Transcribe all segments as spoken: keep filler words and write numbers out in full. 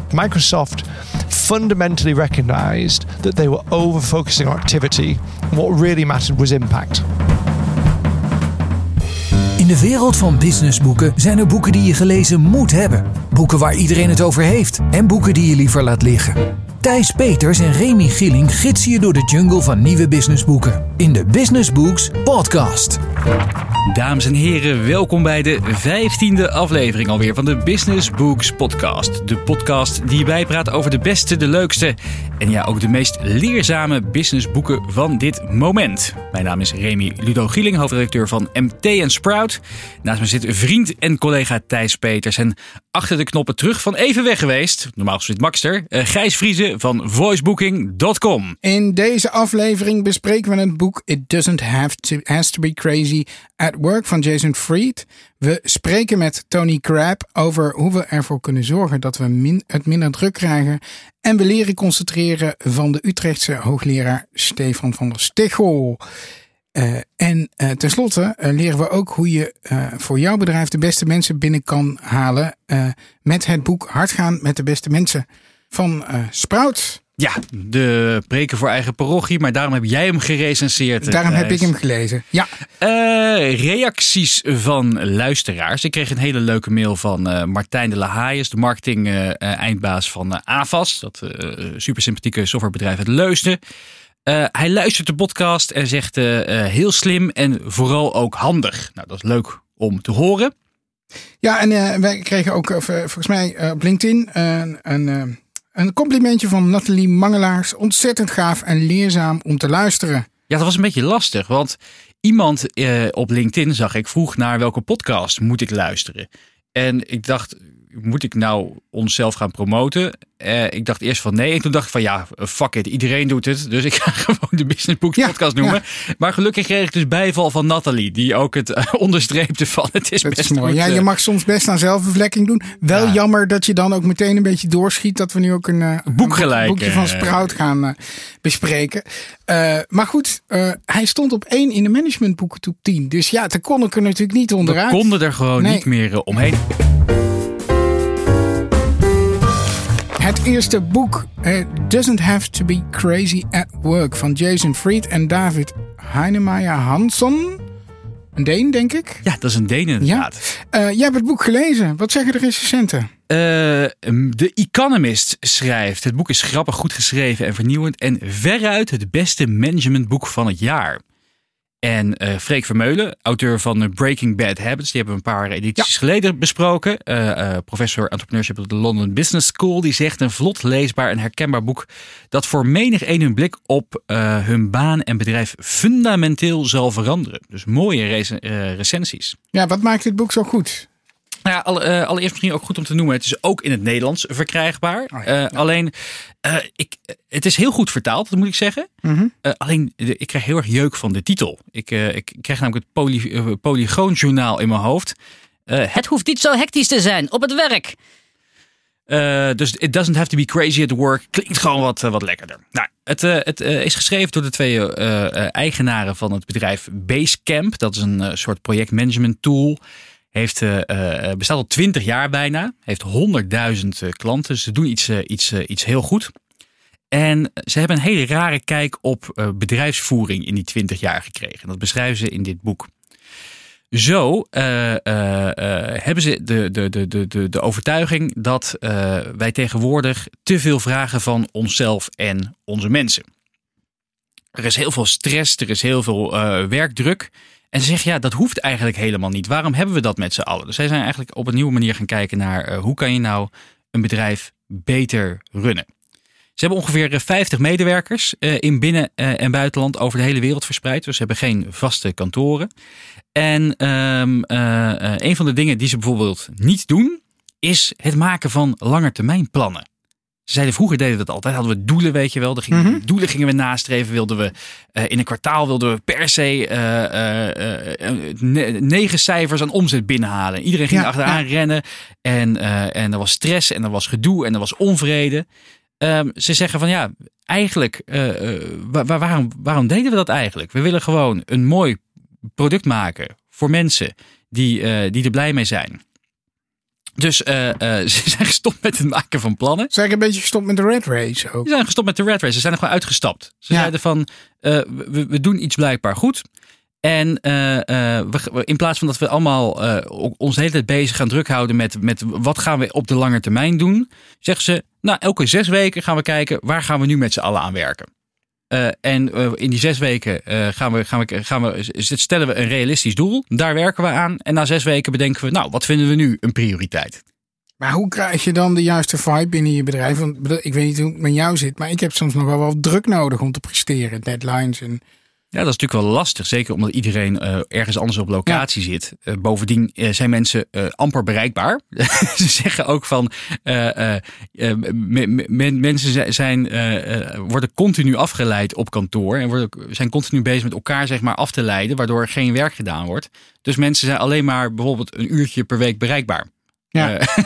Microsoft fundamentally recognized that they were over-focusing on activity. And what really mattered was impact. In de wereld van businessboeken zijn er boeken die je gelezen moet hebben. Boeken waar iedereen het over heeft. En boeken die je liever laat liggen. Thijs Peters en Remy Gieling gidsen je door de jungle van nieuwe businessboeken. In de Business Books podcast. Dames en heren, welkom bij de vijftiende aflevering alweer van de Business Books podcast. De podcast die je bijpraat over de beste, de leukste en ja, ook de meest leerzame businessboeken van dit moment. Mijn naam is Remy Ludo Gieling, hoofdredacteur van M T en Sprout. Naast me zit vriend en collega Thijs Peters en achter de knoppen terug van even weg geweest, normaal gesproken Maxter, uh, Gijs Vriezen van voicebooking punt com. In deze aflevering bespreken we het boek It Doesn't Have to, Has to Be Crazy at Work van Jason Fried. We spreken met Tony Crabb over hoe we ervoor kunnen zorgen dat we min, het minder druk krijgen. En we leren concentreren van de Utrechtse hoogleraar Stefan van der Stichel. Uh, en uh, tenslotte uh, leren we ook hoe je uh, voor jouw bedrijf de beste mensen binnen kan halen. Uh, met het boek Hard gaan met de beste mensen van uh, Sprout. Ja, de preken voor eigen parochie, maar daarom heb jij hem gerecenseerd. Daarom Thijs. heb ik hem gelezen, ja. Uh, reacties van luisteraars. Ik kreeg een hele leuke mail van uh, Martijn de La Hayes, de marketing uh, eindbaas van uh, Avast. Dat uh, super sympathieke softwarebedrijf uit Leusden. Uh, hij luistert de podcast en zegt uh, uh, heel slim en vooral ook handig. Nou, dat is leuk om te horen. Ja, en uh, wij kregen ook uh, volgens mij uh, op LinkedIn uh, een... Uh, Een complimentje van Nathalie Mangelaars. Ontzettend gaaf en leerzaam om te luisteren. Ja, dat was een beetje lastig. Want iemand eh, op LinkedIn, zag ik, vroeg naar welke podcast moet ik luisteren. En ik dacht, moet ik nou onszelf gaan promoten? Uh, ik dacht eerst van nee. En toen dacht ik van ja, fuck it. Iedereen doet het. Dus ik ga gewoon de Business Books ja, podcast noemen. Ja. Maar gelukkig kreeg ik dus bijval van Nathalie. Die ook het uh, onderstreepte van het is dat best is mooi. goed. Ja, je mag soms best aan zelfbevlekking doen. Wel ja. Jammer dat je dan ook meteen een beetje doorschiet. Dat we nu ook een, uh, Boek een boek, boekje van Sprout gaan uh, bespreken. Uh, maar goed, uh, hij stond op één in de managementboeken top tien. Dus ja, daar kon ik er natuurlijk niet onderuit. We konden er gewoon nee. niet meer uh, omheen. Het eerste boek, uh, Doesn't Have to Be Crazy at Work van Jason Fried en David Heinemeier Hansson. Een Deen, denk ik. Ja, dat is een Deen inderdaad. Ja. Uh, jij hebt het boek gelezen. Wat zeggen de recensenten? Uh, The Economist schrijft. Het boek is grappig, goed geschreven en vernieuwend. En veruit het beste managementboek van het jaar. En uh, Freek Vermeulen, auteur van Breaking Bad Habits. Die hebben we een paar edities ja. geleden besproken. Uh, uh, professor entrepreneurship op de London Business School. Die zegt een vlot leesbaar en herkenbaar boek. Dat voor menig een hun blik op uh, hun baan en bedrijf fundamenteel zal veranderen. Dus mooie rec- uh, recensies. Ja, wat maakt dit boek zo goed? Nou ja, alle, uh, allereerst misschien ook goed om te noemen. Het is ook in het Nederlands verkrijgbaar. Oh ja, uh, ja. Alleen, uh, ik, het is heel goed vertaald, dat moet ik zeggen. Mm-hmm. Uh, alleen, de, ik krijg heel erg jeuk van de titel. Ik, uh, ik krijg namelijk het poly, uh, Polygoonjournaal in mijn hoofd. Uh, het hoeft niet zo hectisch te zijn op het werk. Uh, dus It Doesn't Have to Be Crazy at Work klinkt gewoon wat, uh, wat lekkerder. Nou, het uh, het uh, is geschreven door de twee uh, uh, eigenaren van het bedrijf Basecamp. Dat is een uh, soort projectmanagement tool. Heeft, uh, bestaat al twintig jaar bijna. Heeft honderdduizend uh, klanten. Ze doen iets, uh, iets, uh, iets heel goed. En ze hebben een hele rare kijk op uh, bedrijfsvoering in die twintig jaar gekregen. Dat beschrijven ze in dit boek. Zo uh, uh, uh, hebben ze de, de, de, de, de overtuiging dat uh, wij tegenwoordig te veel vragen van onszelf en onze mensen. Er is heel veel stress, er is heel veel uh, werkdruk. En ze zeggen, ja, dat hoeft eigenlijk helemaal niet. Waarom hebben we dat met z'n allen? Dus zij zijn eigenlijk op een nieuwe manier gaan kijken naar uh, hoe kan je nou een bedrijf beter runnen. Ze hebben ongeveer vijftig medewerkers uh, in binnen- uh, en buitenland over de hele wereld verspreid. Dus ze hebben geen vaste kantoren. En um, uh, uh, een van de dingen die ze bijvoorbeeld niet doen, is het maken van langetermijnplannen. Ze zeiden vroeger deden we dat altijd. Hadden we doelen, weet je wel. Gingen, mm-hmm. Doelen gingen we nastreven. Wilden we uh, in een kwartaal wilden we per se uh, uh, uh, ne- negen cijfers aan omzet binnenhalen. Iedereen ging ja, achteraan ja. rennen. En, uh, en er was stress en er was gedoe en er was onvrede. Um, ze zeggen van ja, eigenlijk, uh, uh, waar, waarom, waarom deden we dat eigenlijk? We willen gewoon een mooi product maken voor mensen die, uh, die er blij mee zijn. Dus uh, uh, ze zijn gestopt met het maken van plannen. Ze zijn een beetje gestopt met de red race ook. Ze zijn gestopt met de red race. Ze zijn er gewoon uitgestapt. Ze ja. zeiden van, uh, we, we doen iets blijkbaar goed. En uh, uh, we, in plaats van dat we allemaal uh, ons de hele tijd bezig gaan druk houden met, met wat gaan we op de lange termijn doen, zeggen ze, nou, elke zes weken gaan we kijken, waar gaan we nu met z'n allen aan werken. Uh, en uh, in die zes weken uh, gaan we, gaan we, gaan we, stellen we een realistisch doel. Daar werken we aan. En na zes weken bedenken we, nou, wat vinden we nu een prioriteit? Maar hoe krijg je dan de juiste vibe binnen je bedrijf? Want ik weet niet hoe het met jou zit, maar ik heb soms nog wel wat druk nodig om te presteren. Deadlines en... Ja, dat is natuurlijk wel lastig. Zeker omdat iedereen uh, ergens anders op locatie ja. zit. Uh, bovendien uh, zijn mensen uh, amper bereikbaar. Ze zeggen ook van... Uh, uh, uh, me, me, mensen zijn, uh, uh, worden continu afgeleid op kantoor. En worden, zijn continu bezig met elkaar zeg maar, af te leiden. Waardoor geen werk gedaan wordt. Dus mensen zijn alleen maar bijvoorbeeld een uurtje per week bereikbaar. Ja. Uh,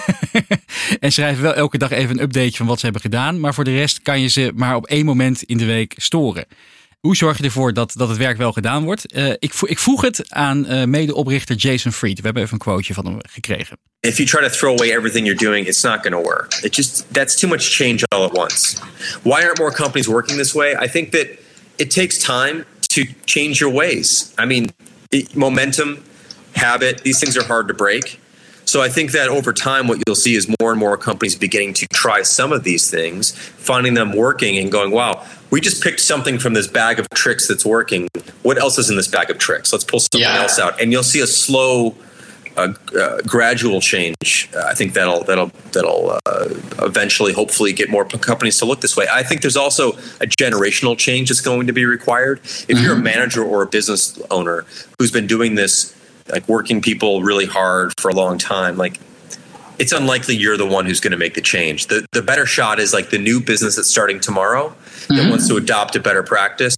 en schrijven wel elke dag even een updateje van wat ze hebben gedaan. Maar voor de rest kan je ze maar op één moment in de week storen. Hoe zorg je ervoor dat, dat het werk wel gedaan wordt? Uh, ik, vo- ik vroeg het aan uh, medeoprichter Jason Fried. We hebben even een quoteje van hem gekregen. If you try to throw away everything you're doing, it's not going to work. It just that's too much change all at once. Why aren't more companies working this way? I think that it takes time to change your ways. I mean, it, momentum, habit, these things are hard to break. So I think that over time what you'll see is more and more companies beginning to try some of these things, finding them working and going, wow, we just picked something from this bag of tricks that's working. What else is in this bag of tricks? Let's pull something yeah. else out. And you'll see a slow, uh, uh, gradual change. Uh, I think that'll that'll that'll uh, eventually, hopefully, get more companies to look this way. I think there's also a generational change that's going to be required. If mm-hmm. you're a manager or a business owner who's been doing this, like working people really hard for a long time, like it's unlikely you're the one who's going to make the change. The the better shot is like the new business that's starting tomorrow that mm-hmm. wants to adopt a better practice.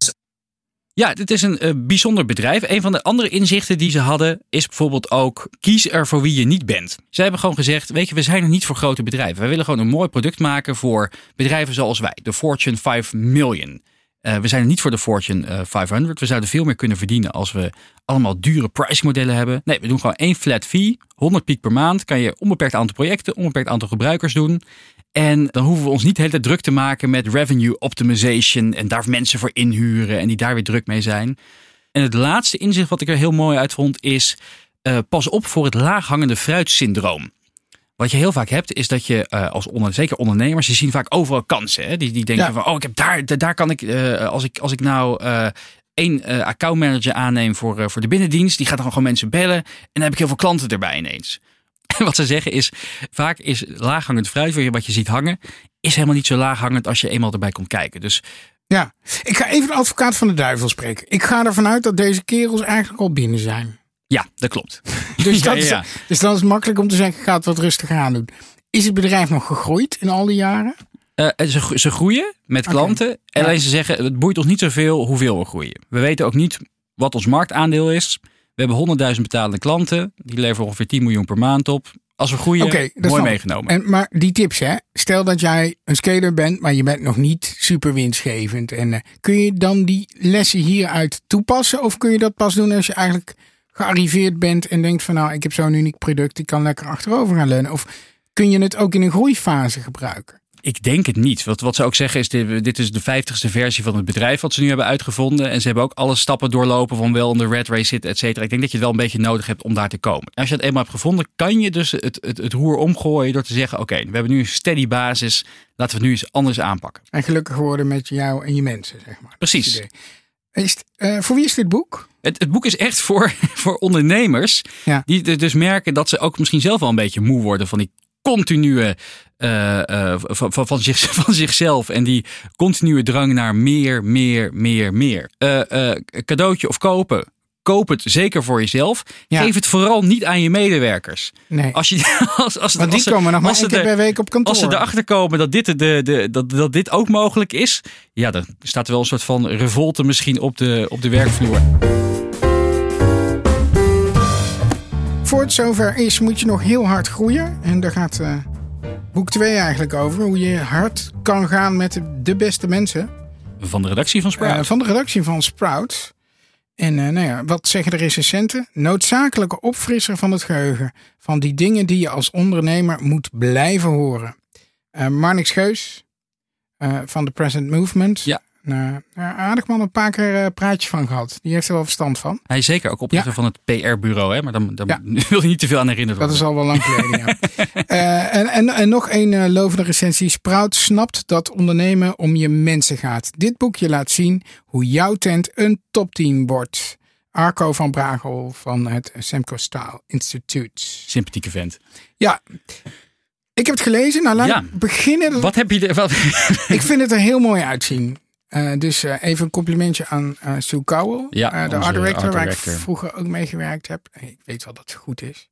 Ja, dit is een uh, bijzonder bedrijf. Een van de andere inzichten die ze hadden is bijvoorbeeld ook kies er voor wie je niet bent. Ze hebben gewoon gezegd, weet je, we zijn er niet voor grote bedrijven. Wij willen gewoon een mooi product maken voor bedrijven zoals wij. De Fortune vijf miljoen. Uh, we zijn er niet voor de Fortune uh, vijfhonderd. We zouden veel meer kunnen verdienen als we allemaal dure pricingmodellen hebben. Nee, we doen gewoon één flat fee. honderd piek per maand. Kan je onbeperkt aantal projecten, onbeperkt aantal gebruikers doen. En dan hoeven we ons niet de hele tijd druk te maken met revenue optimization. En daar mensen voor inhuren en die daar weer druk mee zijn. En het laatste inzicht wat ik er heel mooi uit vond is, uh, pas op voor het laaghangende fruitsyndroom. Wat je heel vaak hebt, is dat je uh, als onder, zeker ondernemers, die zien vaak overal kansen. Hè? Die, die denken ja. van, oh, ik heb daar, daar kan ik, uh, als ik, als ik nou uh, één uh, accountmanager aanneem voor, uh, voor de binnendienst, die gaat dan gewoon mensen bellen en dan heb ik heel veel klanten erbij ineens. En wat ze zeggen is, vaak is laaghangend fruit, wat je ziet hangen, is helemaal niet zo laaghangend als je eenmaal erbij komt kijken. Dus ja, ik ga even de advocaat van de duivel spreken. Ik ga ervan uit dat deze kerels eigenlijk al binnen zijn. Ja, dat klopt. Dus, dat ja, ja, ja. Is, dus dan is het makkelijk om te zeggen, ik ga het wat rustiger aan doen. Is het bedrijf nog gegroeid in al die jaren? Uh, ze, ze groeien met klanten. Okay. En alleen ja. ze zeggen, het boeit ons niet zoveel hoeveel we groeien. We weten ook niet wat ons marktaandeel is. We hebben honderdduizend betalende klanten. Die leveren ongeveer tien miljoen per maand op. Als we groeien, okay, mooi meegenomen. En, maar die tips, hè? Stel dat jij een scaler bent, maar je bent nog niet super winstgevend. En, uh, kun je dan die lessen hieruit toepassen? Of kun je dat pas doen als je eigenlijk gearriveerd bent en denkt van, nou, ik heb zo'n uniek product, ik kan lekker achterover gaan leunen? Of kun je het ook in een groeifase gebruiken? Ik denk het niet. Wat, wat ze ook zeggen is, dit, dit is de vijftigste versie van het bedrijf wat ze nu hebben uitgevonden. En ze hebben ook alle stappen doorlopen van wel in de red race zitten, et cetera. Ik denk dat je het wel een beetje nodig hebt om daar te komen. Als je het eenmaal hebt gevonden, kan je dus het, het, het roer omgooien door te zeggen, oké, okay, we hebben nu een steady basis. Laten we het nu eens anders aanpakken. En gelukkig worden met jou en je mensen, zeg maar. Precies. Is het, uh, voor wie is dit boek? Het, het boek is echt voor, voor ondernemers. Ja. Die dus merken dat ze ook misschien zelf wel een beetje moe worden van die continue uh, uh, van, van, van, zich, van zichzelf en die continue drang naar meer, meer, meer, meer. Uh, uh, cadeautje of kopen. Koop het zeker voor jezelf. Ja. Geef het vooral niet aan je medewerkers. Nee. Als je, als, als, Want die als ze, komen nog maar één keer per week op kantoor. Als ze erachter komen dat dit, de, de, dat, dat dit ook mogelijk is, ja, dan staat er wel een soort van revolte misschien op de, op de werkvloer. Voor het zover is, moet je nog heel hard groeien. En daar gaat uh, boek twee eigenlijk over. Hoe je hard kan gaan met de beste mensen. Van de redactie van Sprout. Uh, van de redactie van Sprout. En uh, nou ja, wat zeggen de recensenten? Noodzakelijke opfrisser van het geheugen. Van die dingen die je als ondernemer moet blijven horen. Uh, Marnix Geus uh, van The Present Movement. Ja. Uh, aardig man, een paar keer uh, praatjes van gehad. Die heeft er wel verstand van. Hij is zeker ook oprichter ja. van het P R-bureau. Hè? Maar dan, dan ja. wil je niet te veel aan herinnerd worden. Dat is al wel lang geleden, ja. uh, en, en, en nog een uh, lovende recensie. Sprout snapt dat ondernemen om je mensen gaat. Dit boekje laat zien hoe jouw tent een topteam wordt. Arco van Bragel van het Semco Style Institute. Sympathieke vent. Ja. Ik heb het gelezen. Nou, laat ja. ik beginnen. Wat heb je er, wat... Ik vind het er heel mooi uitzien. Uh, dus uh, even een complimentje aan uh, Sue Cowell. Ja, uh, de art director, art waar director. ik vroeger ook mee gewerkt heb. Ik weet wel dat ze goed is.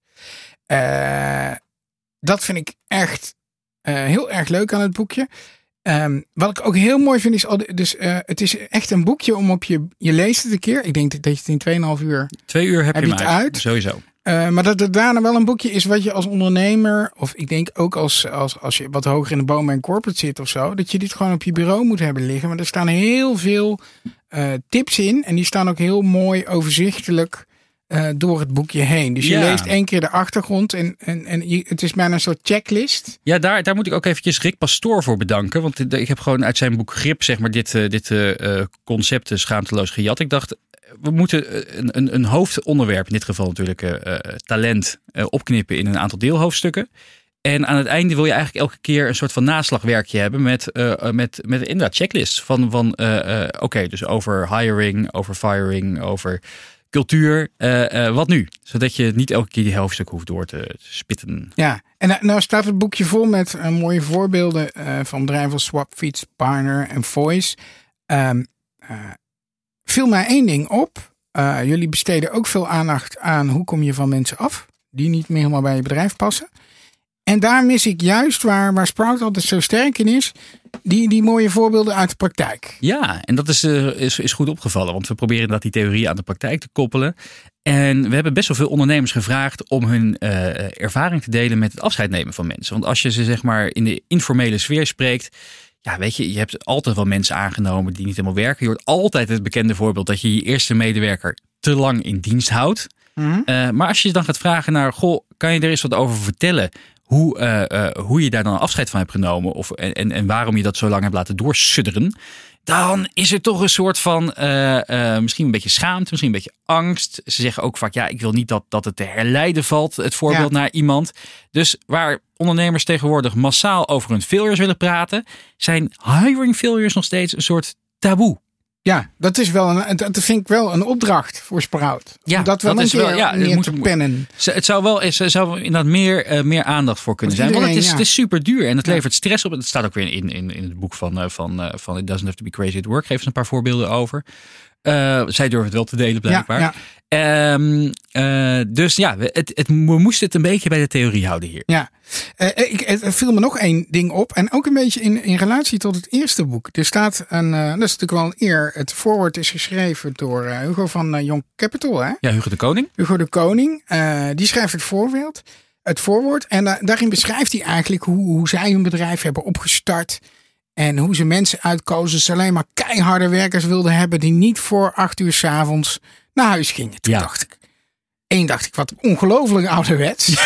Uh, dat vind ik echt uh, heel erg leuk aan het boekje. Um, wat ik ook heel mooi vind is, al de, dus uh, het is echt een boekje om op je, je leest het een keer. Ik denk dat je het in twee en een half uur Twee uur heb, heb je het uit. uit. Sowieso. Uh, maar dat het daarna wel een boekje is wat je als ondernemer, of ik denk ook als, als, als je wat hoger in de boom bij een corporate zit of zo, dat je dit gewoon op je bureau moet hebben liggen. Maar er staan heel veel uh, tips in en die staan ook heel mooi overzichtelijk uh, door het boekje heen. Dus je ja. leest één keer de achtergrond en, en, en je, het is bijna een soort checklist. Ja, daar, daar moet ik ook eventjes Rick Pastoor voor bedanken. Want ik heb gewoon uit zijn boek Grip, zeg maar, dit, dit uh, concept schaamteloos gejat. Ik dacht, we moeten een, een, een hoofdonderwerp, in dit geval natuurlijk uh, talent, uh, opknippen in een aantal deelhoofdstukken. En aan het einde wil je eigenlijk elke keer een soort van naslagwerkje hebben met, uh, met, met inderdaad checklists. Van, van uh, uh, oké, okay, dus over hiring, over firing, over cultuur. Uh, uh, wat nu? Zodat je niet elke keer die hoofdstuk hoeft door te spitten. Ja, en nou staat het boekje vol met uh, mooie voorbeelden uh, van bedrijven als Swapfeeds, Pioneer en Voice. Um, uh, viel mij één ding op. Uh, jullie besteden ook veel aandacht aan hoe kom je van mensen af die niet meer helemaal bij je bedrijf passen. En daar mis ik juist waar, waar Sprout altijd zo sterk in is, die, die mooie voorbeelden uit de praktijk. Ja, en dat is, uh, is, is goed opgevallen, want we proberen inderdaad die theorie aan de praktijk te koppelen. En we hebben best wel veel ondernemers gevraagd om hun uh, ervaring te delen met het afscheid nemen van mensen. Want als je ze zeg maar in de informele sfeer spreekt, ja, weet je, je hebt altijd wel mensen aangenomen die niet helemaal werken. Je hoort altijd het bekende voorbeeld dat je je eerste medewerker te lang in dienst houdt. Mm-hmm. Uh, maar als je dan gaat vragen naar, goh, kan je er eens wat over vertellen? Hoe, uh, uh, hoe je daar dan afscheid van hebt genomen of, en, en waarom je dat zo lang hebt laten doorsudderen. Dan is er toch een soort van uh, uh, misschien een beetje schaamte, misschien een beetje angst. Ze zeggen ook vaak, ja, ik wil niet dat, dat het te herleiden valt, het voorbeeld ja. naar iemand. Dus waar ondernemers tegenwoordig massaal over hun failures willen praten, zijn hiring failures nog steeds een soort taboe. Ja, dat is wel een, dat vind ik wel een opdracht voor Sprout. Ja, om dat wel dat een is wel, keer ja, neer moet, te pennen. Het zou wel er zou inderdaad meer, uh, meer aandacht voor kunnen zijn. Want het is, ja. het is super duur en het levert ja. stress op. Het staat ook weer in, in, in het boek van, uh, van, uh, van It Doesn't Have to Be Crazy at Work. Geef ze een paar voorbeelden over. Uh, zij durven het wel te delen blijkbaar. Ja, ja. Um, uh, dus ja, het, het, we moesten het een beetje bij de theorie houden hier. Ja, uh, ik, er viel me nog één ding op. En ook een beetje in, in relatie tot het eerste boek. Er staat een, uh, dat is natuurlijk wel een eer. Het voorwoord is geschreven door uh, Hugo van uh, Young Capital. Hè? Ja, Hugo de Koning. Hugo de Koning. Uh, die schrijft het voorbeeld. Het voorwoord. En uh, daarin beschrijft hij eigenlijk hoe, hoe zij hun bedrijf hebben opgestart. En hoe ze mensen uitkozen. Ze alleen maar keiharde werkers wilden hebben. Die niet voor acht uur 's avonds naar huis gingen. Toen ja. dacht ik. Eén dacht ik, wat ongelooflijk ouderwets.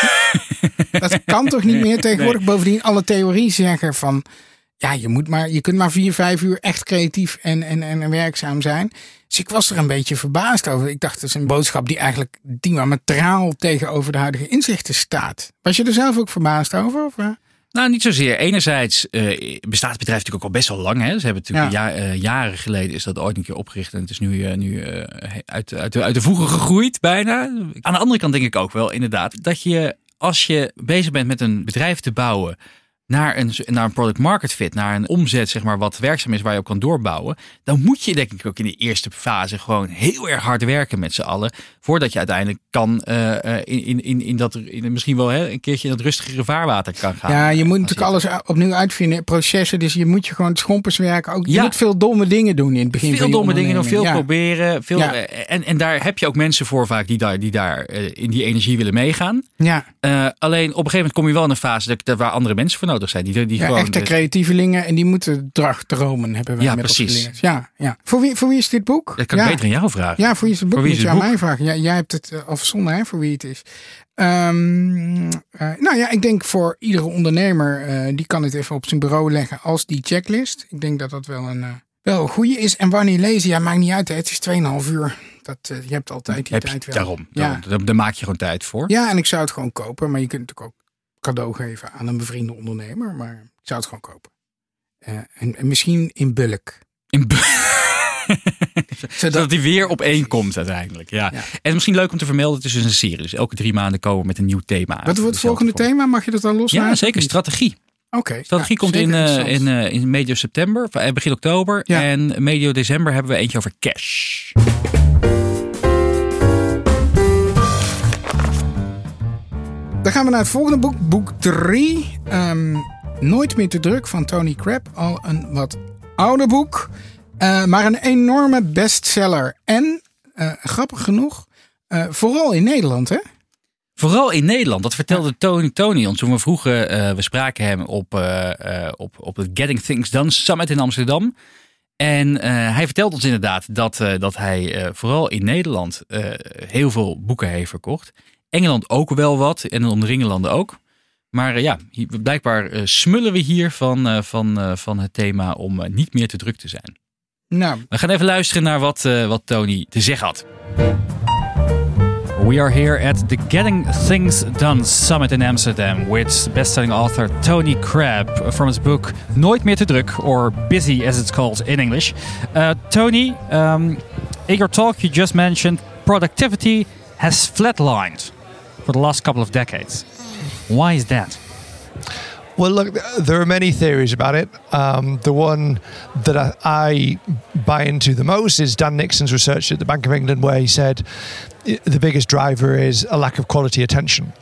Dat kan toch niet meer tegenwoordig. Nee. Bovendien alle theorie zeggen van. Ja, je, moet maar, je kunt maar vier, vijf uur echt creatief en, en, en werkzaam zijn. Dus ik was er een beetje verbaasd over. Ik dacht, dat is een boodschap die eigenlijk diametraal tegenover de huidige inzichten staat. Was je er zelf ook verbaasd over? Of? Nou, niet zozeer. Enerzijds uh, bestaat het bedrijf natuurlijk ook al best wel lang. Hè? Ze hebben natuurlijk ja. ja, uh, jaren geleden is dat ooit een keer opgericht. En het is nu, uh, nu uh, uit, uit, de, uit de voegen gegroeid bijna. Aan de andere kant denk ik ook wel inderdaad dat je als je bezig bent met een bedrijf te bouwen naar een, naar een product market fit, naar een omzet zeg maar wat werkzaam is waar je op kan doorbouwen, dan moet je denk ik ook in de eerste fase gewoon heel erg hard werken met z'n allen, voordat je uiteindelijk kan uh, in, in, in dat in, misschien wel hè, een keertje in dat rustigere vaarwater kan gaan. Ja, je moet natuurlijk alles opnieuw uitvinden, processen, dus je moet je gewoon schompers werken. Ook, je ja. moet veel domme dingen doen in het begin. Veel van je domme dingen doen, veel ja. proberen. Veel, ja. en, en daar heb je ook mensen voor vaak die daar, die daar uh, in die energie willen meegaan. Ja. Uh, alleen op een gegeven moment kom je wel in een fase dat, dat waar andere mensen voor nodig nodig zijn. Die, die ja, gewoon, echte creatievelingen en die moeten dromen hebben wij ja, met precies. ons geleerd. Ja, ja. Voor wie, voor wie is dit boek? Dat kan ja. ik beter aan jou vragen. Ja, voor wie is het boek? Voor wie Moet is je het aan boek? mij vragen. Ja, jij hebt het uh, al verzonnen, hè, voor wie het is. Um, uh, nou ja, ik denk voor iedere ondernemer, uh, die kan het even op zijn bureau leggen als die checklist. Ik denk dat dat wel een, uh, wel een goede is. En wanneer lezen, ja, maakt niet uit. Hè. Het is tweeënhalf uur. Dat, uh, je hebt altijd die Heb tijd je, wel. daarom, Ja. daarom. Daar, daar maak je gewoon tijd voor. Ja, en ik zou het gewoon kopen. Maar je kunt het natuurlijk ook cadeau geven aan een bevriende ondernemer. Maar ik zou het gewoon kopen. Uh, en, en misschien in bulk. In bu- Zodat, Zodat die weer op één komt uiteindelijk. Ja. Ja. En misschien leuk om te vermelden, het is dus een serie. Dus elke drie maanden komen we met een nieuw thema. Wat wordt het volgende Vorm. thema? Mag je dat dan loslaten? Ja, zeker. Strategie. Oké. Okay. Strategie ja, komt in, zeker uh, interessant. in, uh, in medio september, uh, begin oktober. Ja. En medio december hebben we eentje over cash. Dan gaan we naar het volgende boek. Boek drie. Um, Nooit meer te druk van Tony Crabb. Al een wat ouder boek. Uh, maar een enorme bestseller. En, uh, grappig genoeg, uh, vooral in Nederland, hè? Vooral in Nederland. Dat vertelde Tony, Tony ons toen we vroegen. Uh, we spraken hem op, uh, uh, op, op het Getting Things Done Summit in Amsterdam. En uh, hij vertelt ons inderdaad dat, uh, dat hij uh, vooral in Nederland uh, heel veel boeken heeft verkocht. Engeland ook wel wat en de omringende ook. Maar uh, ja, hier, blijkbaar uh, smullen we hier van, uh, van, uh, van het thema om uh, niet meer te druk te zijn. Nou. We gaan even luisteren naar wat, uh, wat Tony te zeggen had. We are here at the Getting Things Done Summit in Amsterdam with best-selling author Tony Crabb from his book Nooit meer te druk, or Busy as it's called in English. Uh, Tony, um, in your talk you just mentioned productivity has flatlined for the last couple of decades. Why is that? Well, look, there are many theories about it. Um, the one that I, I buy into the most is Dan Nixon's research at the Bank of England, where he said the biggest driver is a lack of quality attention.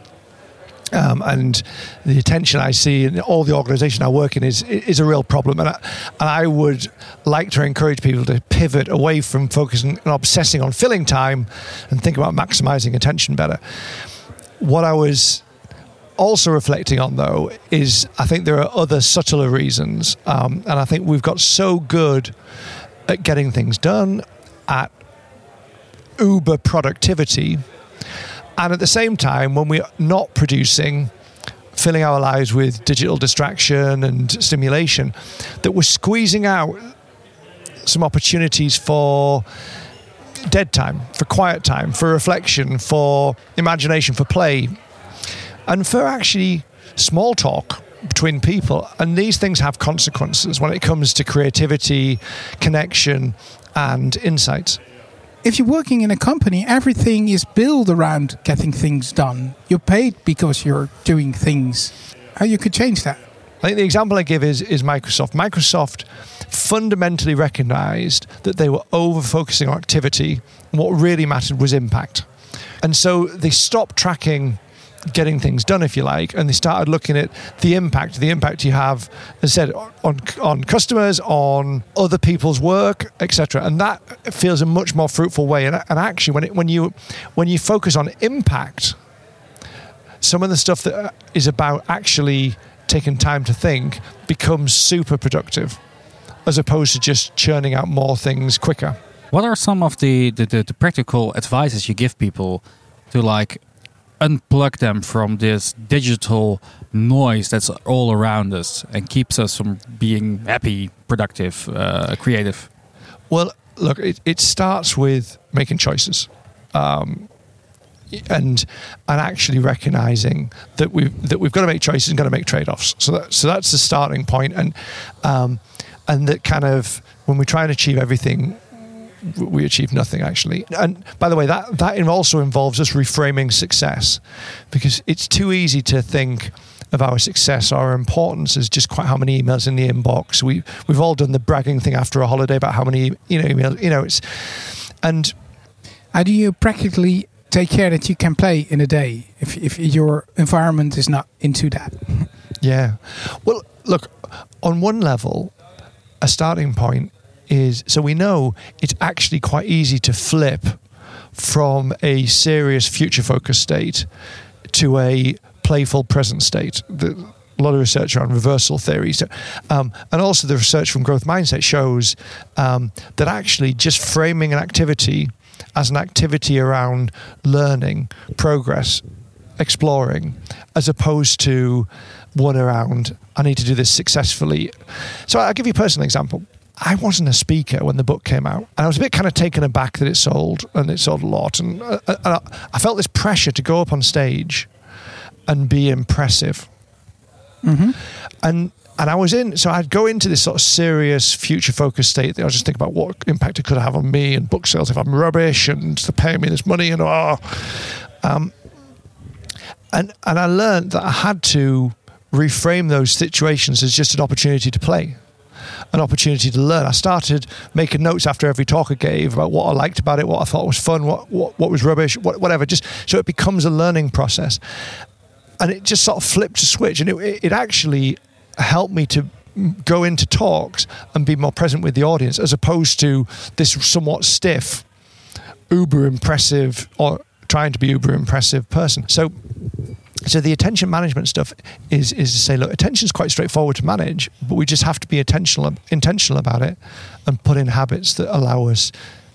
Um, and the attention I see in all the organisation I work in is is a real problem. And I, and I would like to encourage people to pivot away from focusing and obsessing on filling time and think about maximising attention better. What I was also reflecting on, though, is I think there are other subtler reasons. Um, and I think we've got so good at getting things done, at uber productivity, and at the same time, when we're not producing, filling our lives with digital distraction and stimulation, that we're squeezing out some opportunities for dead time, for quiet time, for reflection, for imagination, for play, and for actually small talk between people. And these things have consequences when it comes to creativity, connection, and insights. If you're working in a company, everything is built around getting things done. You're paid because you're doing things. How you could change that? I think the example I give is, is Microsoft. Microsoft fundamentally recognized that they were over-focusing on activity, and what really mattered was impact. And so they stopped tracking getting things done, if you like, and they started looking at the impact, the impact you have, as I said, on on customers, on other people's work, et cetera. And that feels a much more fruitful way. And, and actually, when it, when you when you focus on impact, some of the stuff that is about actually taking time to think becomes super productive, as opposed to just churning out more things quicker. What are some of the, the, the, the practical advices you give people to like unplug them from this digital noise that's all around us and keeps us from being happy, productive, uh, creative? Well, look, it, it starts with making choices. Um, and and actually recognizing that we that we've got to make choices and got to make trade-offs. So that, so that's the starting point. And um, and that kind of when we try and achieve everything, we achieve nothing actually. And by the way, that that also involves us reframing success, because it's too easy to think of our success, our importance as just quite how many emails in the inbox. We we've all done the bragging thing after a holiday about how many you know emails. You know, it's and how do you practically take care that you can play in a day if if your environment is not into that? Yeah, well, look, on one level, a starting point is, so we know it's actually quite easy to flip from a serious future-focused state to a playful present state. The, a lot of research around reversal theory. So, um, and also the research from Growth Mindset shows um, that actually just framing an activity as an activity around learning, progress, exploring, as opposed to one around, I need to do this successfully. So I'll give you a personal example. I wasn't a speaker when the book came out, and I was a bit kind of taken aback that it sold, and it sold a lot. And uh, uh, I felt this pressure to go up on stage and be impressive. Mm-hmm. And and I was in, so I'd go into this sort of serious future-focused state that I was just thinking about what impact it could have on me and book sales if I'm rubbish and to pay me this money and oh. Um, and and I learned that I had to reframe those situations as just an opportunity to play, an opportunity to learn. I started making notes after every talk I gave about what I liked about it, what I thought was fun, what what, what was rubbish, what, whatever. Just so it becomes a learning process. And it just sort of flipped a switch, and it, it actually helped me to go into talks and be more present with the audience, as opposed to this somewhat stiff, uber impressive, or trying to be uber impressive person. So, so the attention management stuff is is to say, look, attention is quite straightforward to manage, but we just have to be intentional intentional about it and put in habits that allow us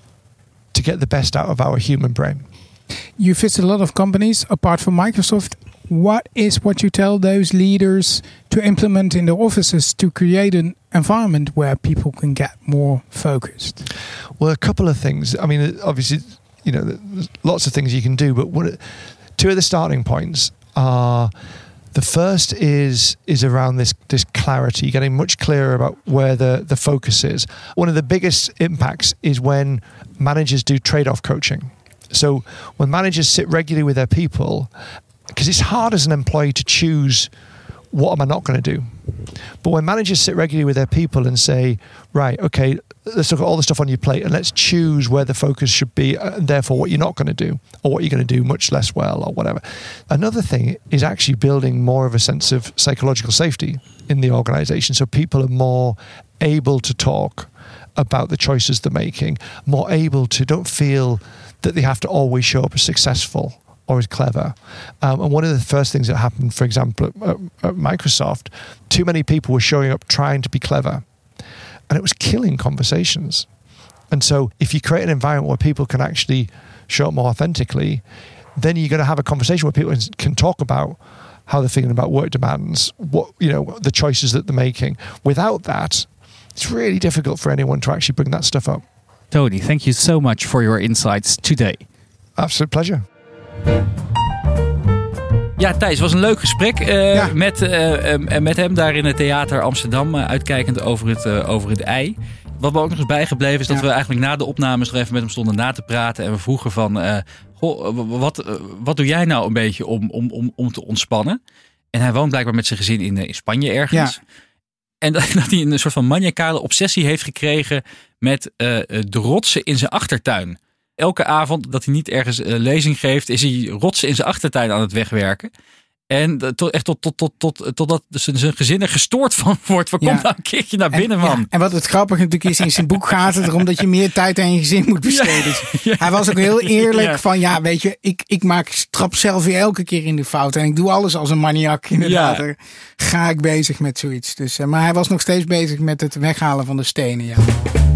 to get the best out of our human brain. You visit a lot of companies apart from Microsoft. What is what you tell those leaders to implement in their offices to create an environment where people can get more focused? Well, a couple of things. I mean, obviously, you know, there's lots of things you can do, but one, two of the starting points are, the first is is around this this clarity, getting much clearer about where the, the focus is. One of the biggest impacts is when managers do trade-off coaching. So when managers sit regularly with their people, because it's hard as an employee to choose what am I not going to do. But when managers sit regularly with their people and say, right, okay, let's look at all the stuff on your plate and let's choose where the focus should be, and therefore what you're not going to do, or what you're going to do much less well, or whatever. Another thing is actually building more of a sense of psychological safety in the organization, so people are more able to talk about the choices they're making, more able to, don't feel that they have to always show up as successful or as clever. Um, and one of the first things that happened, for example, at, at Microsoft, too many people were showing up trying to be clever, and it was killing conversations. And so if you create an environment where people can actually show up more authentically, then you're going to have a conversation where people can talk about how they're feeling about work demands, what, you know, the choices that they're making. Without that, it's really difficult for anyone to actually bring that stuff up. Tony, thank you so much for your insights today. Absolute pleasure. Ja, Thijs, het was een leuk gesprek uh, ja. met, uh, uh, met hem daar in het Theater Amsterdam, uh, uitkijkend over het, uh, over het ei. Wat me ook nog eens bijgebleven is dat ja. we eigenlijk na de opnames nog even met hem stonden na te praten. En we vroegen van, uh, goh, wat, uh, wat doe jij nou een beetje om, om, om, om te ontspannen? En hij woont blijkbaar met zijn gezin in, in Spanje ergens. Ja. En dat, dat hij een soort van maniacale obsessie heeft gekregen met uh, de rotsen in zijn achtertuin. Elke avond dat hij niet ergens uh, lezing geeft, is hij rotsen in zijn achtertuin aan het wegwerken. En uh, tot, echt tot, tot, tot, tot, totdat zijn, zijn gezin er gestoord van wordt. Van, ja. Kom nou een keertje naar binnen, en, man. Ja. En wat het grappige natuurlijk is, in zijn boek gaat het erom dat je meer tijd aan je gezin moet besteden. Ja. Ja. Hij was ook heel eerlijk ja. van, ja, weet je, ik, ik maak trap zelf weer elke keer in de fout. En ik doe alles als een maniak, inderdaad. Ja. Ga ik bezig met zoiets. Dus, uh, maar hij was nog steeds bezig met het weghalen van de stenen, ja.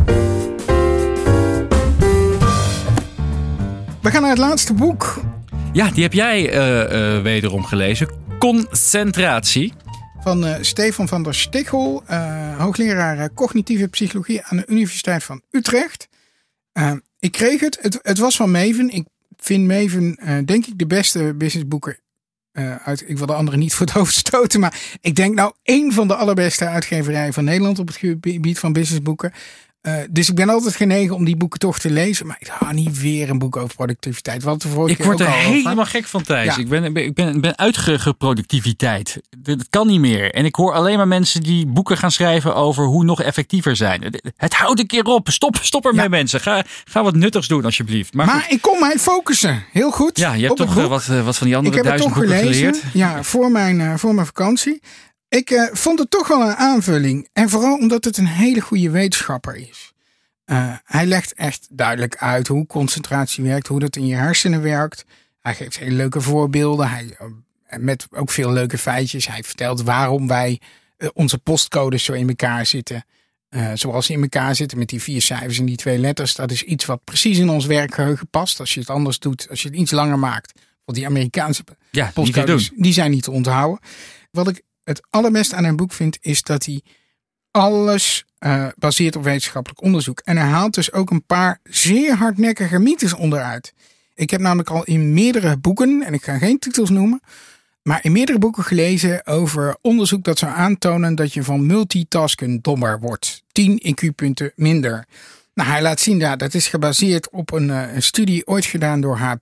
We gaan naar het laatste boek. Ja, die heb jij uh, uh, wederom gelezen. Concentratie. Van uh, Stefan van der Stichel, uh, hoogleraar uh, cognitieve psychologie aan de Universiteit van Utrecht. Uh, ik kreeg het. het. Het was van Maven. Ik vind Maven, uh, denk ik, de beste businessboeken uh, uit. Ik wil de anderen niet voor het hoofd stoten, maar ik denk nou één van de allerbeste uitgeverijen van Nederland op het gebied van businessboeken. Uh, dus ik ben altijd genegen om die boeken toch te lezen. Maar ik hou niet weer een boek over productiviteit. Wat de vorige ik word keer er ook helemaal over. gek van, Thijs. Ja. Ik ben, ik ben, ben uitgeproductiviteit. Dat kan niet meer. En ik hoor alleen maar mensen die boeken gaan schrijven over hoe nog effectiever zijn. Het houdt een keer op. Stop, stop ermee, ja. mensen. Ga, ga wat nuttigs doen, alsjeblieft. Maar, maar ik kon mij focussen. Heel goed. Ja, je hebt toch uh, wat, uh, wat van die andere duizend boeken gelezen, geleerd. Ja, voor mijn, uh, voor mijn vakantie. Ik uh, vond het toch wel een aanvulling. En vooral omdat het een hele goede wetenschapper is. Uh, hij legt echt duidelijk uit hoe concentratie werkt, hoe dat in je hersenen werkt. Hij geeft hele leuke voorbeelden. Hij uh, met ook veel leuke feitjes. Hij vertelt waarom wij uh, onze postcodes zo in elkaar zitten. Uh, zoals ze in elkaar zitten met die vier cijfers en die twee letters. Dat is iets wat precies in ons werkgeheugen past. Als je het anders doet, als je het iets langer maakt. Want die Amerikaanse ja, postcodes, die zijn niet te onthouden. Wat ik het allerbeste aan een boek vind, is dat hij alles uh, baseert op wetenschappelijk onderzoek. En hij haalt dus ook een paar zeer hardnekkige mythes onderuit. Ik heb namelijk al in meerdere boeken, en ik ga geen titels noemen, maar in meerdere boeken gelezen over onderzoek dat zou aantonen dat je van multitasken dommer wordt. tien I Q-punten minder. Nou, hij laat zien, ja, dat is gebaseerd op een, uh, een studie ooit gedaan door H P.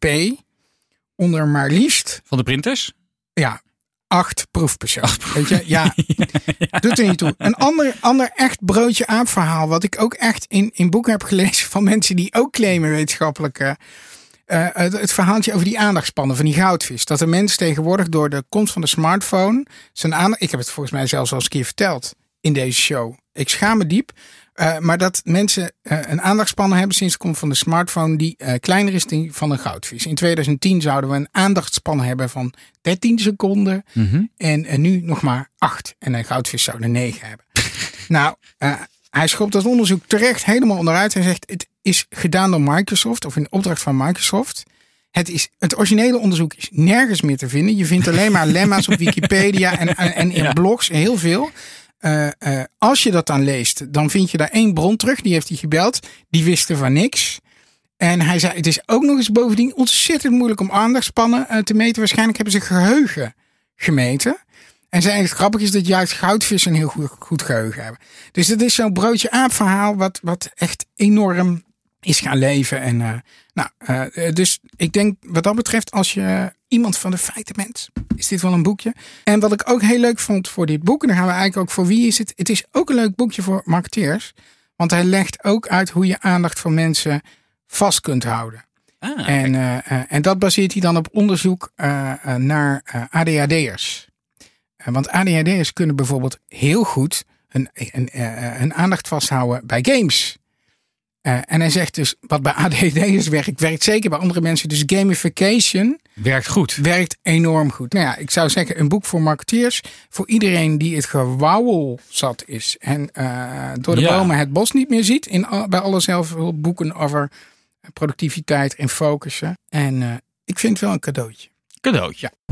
Onder maar liefst... Van de printers? Ja, acht proefpersonen. Weet je, ja, ja, doet er niet toe. Een ander, ander echt broodje aap verhaal, wat ik ook echt in, in boeken heb gelezen van mensen die ook claimen wetenschappelijke... Uh, het, het verhaaltje over die aandachtspannen van die goudvis. Dat de mens tegenwoordig door de komst van de smartphone zijn aandacht... Ik heb het volgens mij zelfs al eens een keer verteld in deze show. Ik schaam me diep. Uh, maar dat mensen uh, een aandachtspanne hebben sinds de komst van de smartphone die uh, kleiner is dan die van een goudvis. In twintig tien zouden we een aandachtspanne hebben van dertien seconden. Mm-hmm. En uh, nu nog maar acht. En een goudvis zou er negen hebben. nou, uh, hij schopt dat onderzoek terecht helemaal onderuit. Hij zegt, het is gedaan door Microsoft of in opdracht van Microsoft. Het, is, het originele onderzoek is nergens meer te vinden. Je vindt alleen maar lemma's op Wikipedia en, en, en in ja. blogs, heel veel. Uh, uh, als je dat dan leest, dan vind je daar één bron terug. Die heeft hij gebeld. Die wisten van niks. En hij zei, het is ook nog eens bovendien ontzettend moeilijk om aandachtspannen uh, te meten. Waarschijnlijk hebben ze geheugen gemeten. En zei, het grappig is dat juist goudvissen een heel goed, goed geheugen hebben. Dus dat is zo'n broodje aap verhaal wat, wat echt enorm is gaan leven. En, uh, nou, uh, dus ik denk wat dat betreft, als je iemand van de feiten bent, is dit wel een boekje. En wat ik ook heel leuk vond voor dit boek, en dan gaan we eigenlijk ook voor wie is het. Het is ook een leuk boekje voor marketeers. Want hij legt ook uit hoe je aandacht van mensen vast kunt houden. Ah, en, uh, uh, en dat baseert hij dan op onderzoek uh, uh, naar uh, A D H D'ers. Uh, want A D H D'ers kunnen bijvoorbeeld heel goed hun, hun, uh, hun aandacht vasthouden bij games. Uh, en hij zegt dus, wat bij A D H D'ers werkt, werkt zeker bij andere mensen. Dus gamification werkt goed. Werkt enorm goed. Nou ja, ik zou zeggen, een boek voor marketeers. Voor iedereen die het gewauwel zat is. En uh, door de ja. bomen het bos niet meer ziet. In, bij alle zelfhulpboeken over productiviteit en focussen. En uh, ik vind het wel een cadeautje. Cadeautje. Ja.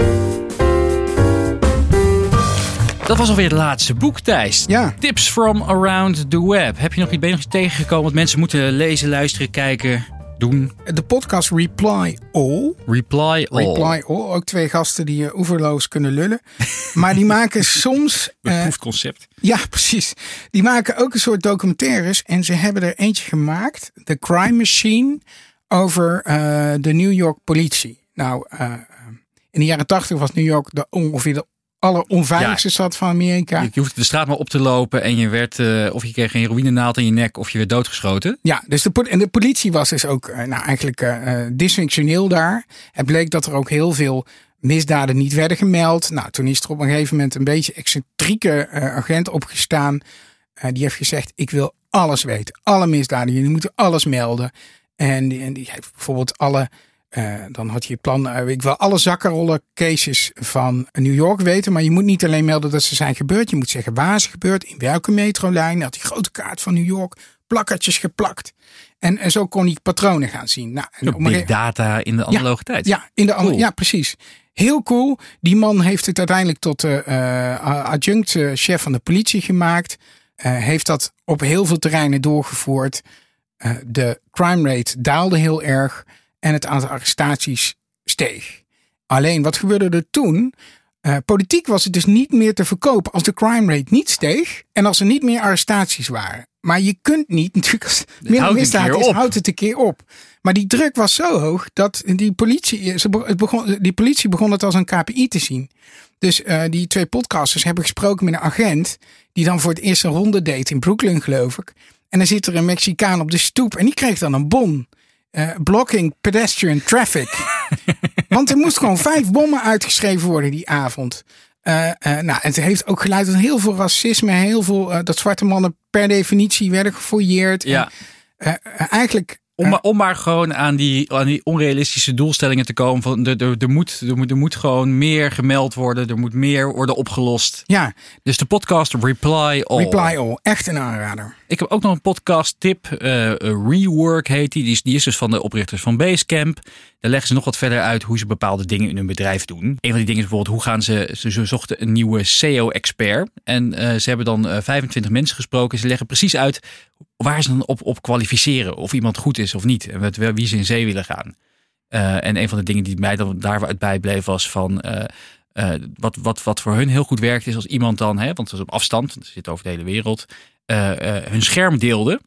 Dat was alweer het laatste boek, Thijs. Ja. Tips from around the web. Heb je nog, ben je nog iets tegengekomen wat mensen moeten lezen, luisteren, kijken, doen? De podcast Reply All. Reply All. Reply All. Ook twee gasten die uh, oeverloos kunnen lullen. Maar die maken soms... Beproefd concept. Uh, ja, precies. Die maken ook een soort documentaires. En ze hebben er eentje gemaakt. The Crime Machine. Over uh, de New York politie. Nou, uh, in de jaren tachtig was New York de, ongeveer de alleronveiligste ja. stad van Amerika. Je, je hoefde de straat maar op te lopen en je werd, uh, of je kreeg een heroïnenaald in je nek of je werd doodgeschoten. Ja, dus de, en de politie was dus ook uh, nou, eigenlijk uh, dysfunctioneel daar. Het bleek dat er ook heel veel misdaden niet werden gemeld. Nou, toen is er op een gegeven moment een beetje excentrieke uh, agent opgestaan. Uh, die heeft gezegd, ik wil alles weten. Alle misdaden, jullie moeten alles melden. En die, en die heeft bijvoorbeeld alle... Uh, dan had je het plan, uh, ik wil alle zakkenrollen cases van New York weten. Maar je moet niet alleen melden dat ze zijn gebeurd. Je moet zeggen waar ze gebeurd, in welke metrolijn. Had die grote kaart van New York, plakkertjes geplakt. En, en zo kon hij patronen gaan zien. Nou, en op big data in de analoge ja, tijd. Ja, in de cool. ja, precies. Heel cool. Die man heeft het uiteindelijk tot uh, adjunct uh, chef van de politie gemaakt. Uh, heeft dat op heel veel terreinen doorgevoerd. Uh, de crime rate daalde heel erg. En het aantal arrestaties steeg. Alleen, wat gebeurde er toen? Uh, politiek was het dus niet meer te verkopen als de crime rate niet steeg. En als er niet meer arrestaties waren. Maar je kunt niet, natuurlijk als het minder misdaad is, houdt het een keer op. Maar die druk was zo hoog dat die politie, ze begon, die politie begon het als een K P I te zien. Dus uh, die twee podcasters hebben gesproken met een agent die dan voor het eerst een ronde deed in Brooklyn, geloof ik. En dan zit er een Mexicaan op de stoep en die kreeg dan een bon. Uh, blocking pedestrian traffic. Want er moest gewoon vijf bommen uitgeschreven worden die avond. Uh, uh, nou, het heeft ook geleid tot heel veel racisme. Heel veel uh, dat zwarte mannen per definitie werden gefouilleerd. Ja. En, uh, uh, eigenlijk Om, maar, om maar gewoon aan die, aan die onrealistische doelstellingen te komen. Van er, er, er, moet, er, moet, er moet gewoon meer gemeld worden. Er moet meer worden opgelost. Ja. Dus de podcast Reply All. Reply All. Echt een aanrader. Ik heb ook nog een podcast tip. Uh, Rework heet die. Die is, die is dus van de oprichters van Basecamp. Daar leggen ze nog wat verder uit hoe ze bepaalde dingen in hun bedrijf doen. Een van die dingen is bijvoorbeeld hoe gaan ze... Ze, ze zochten een nieuwe S E O-expert. En uh, ze hebben dan uh, vijfentwintig mensen gesproken. Ze leggen precies uit waar ze dan op, op kwalificeren. Of iemand goed is of niet. En met wie ze in zee willen gaan. Uh, en een van de dingen die mij dan daaruit bijbleef was van... Uh, uh, wat, wat, wat voor hun heel goed werkt is als iemand dan... Hè, want dat is op afstand, dat zit over de hele wereld... Uh, uh, hun scherm deelde...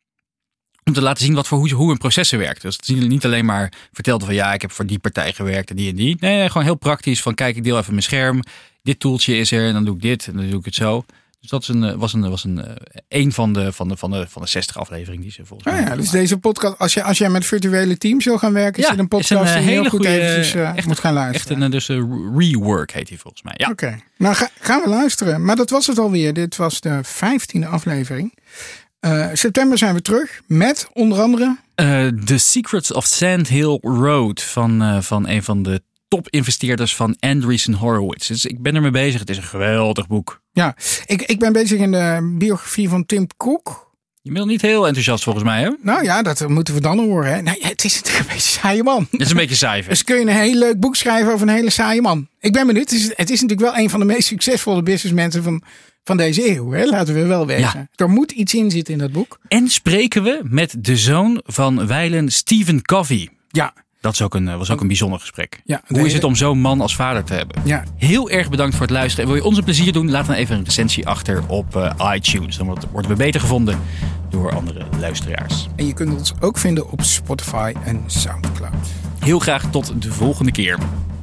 om te laten zien wat voor hoe, hoe hun processen werkt. Dus dat niet alleen maar vertelde van... ja, ik heb voor die partij gewerkt en die en die. Nee, nee, gewoon heel praktisch van... kijk, ik deel even mijn scherm. Dit toeltje is er en dan doe ik dit en dan doe ik het zo... Dus dat is een, was een, was een, een van de, van de, van de, van de zestig afleveringen die ze volgens mij. Oh ja, dus deze podcast, als je, als jij met virtuele teams wil gaan werken, ja, is het een podcast is een, die je heel hele goed goede, eventjes uh, echt, moet gaan luisteren. Echt een dus een rework heet die volgens mij. Ja. Oké, okay. Nou ga, gaan we luisteren. Maar dat was het alweer. Dit was de vijftiende aflevering. Uh, september zijn we terug met onder andere... Uh, The Secrets of Sand Hill Road van, uh, van een van de top-investeerders van Andreessen Horowitz. Dus ik ben ermee bezig. Het is een geweldig boek. Ja, ik, ik ben bezig in de biografie van Tim Cook. Je bent niet heel enthousiast volgens mij, hè? Nou ja, dat moeten we dan horen. Hè? Nou, ja, het is natuurlijk een beetje saaie man. Het is een beetje saai. Dus kun je een heel leuk boek schrijven over een hele saaie man. Ik ben benieuwd. Het is, het is natuurlijk wel een van de meest succesvolle businessmensen van, van deze eeuw. Hè? Laten we wel weten. Ja. Er moet iets in zitten in dat boek. En spreken we met de zoon van wijlen Stephen Covey. Ja. Dat is ook een, was ook een bijzonder gesprek. Ja, Hoe hele... is het om zo'n man als vader te hebben? Ja. Heel erg bedankt voor het luisteren. En wil je ons een plezier doen? Laat dan even een recensie achter op uh, iTunes. Dan worden we beter gevonden door andere luisteraars. En je kunt ons ook vinden op Spotify en Soundcloud. Heel graag tot de volgende keer.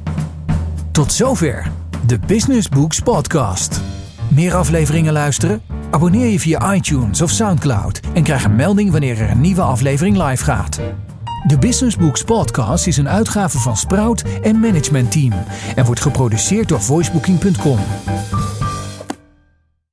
Tot zover de Business Books Podcast. Meer afleveringen luisteren? Abonneer je via iTunes of Soundcloud en krijg een melding wanneer er een nieuwe aflevering live gaat. De Business Books Podcast is een uitgave van Sprout en Management Team en wordt geproduceerd door voicebooking punt com.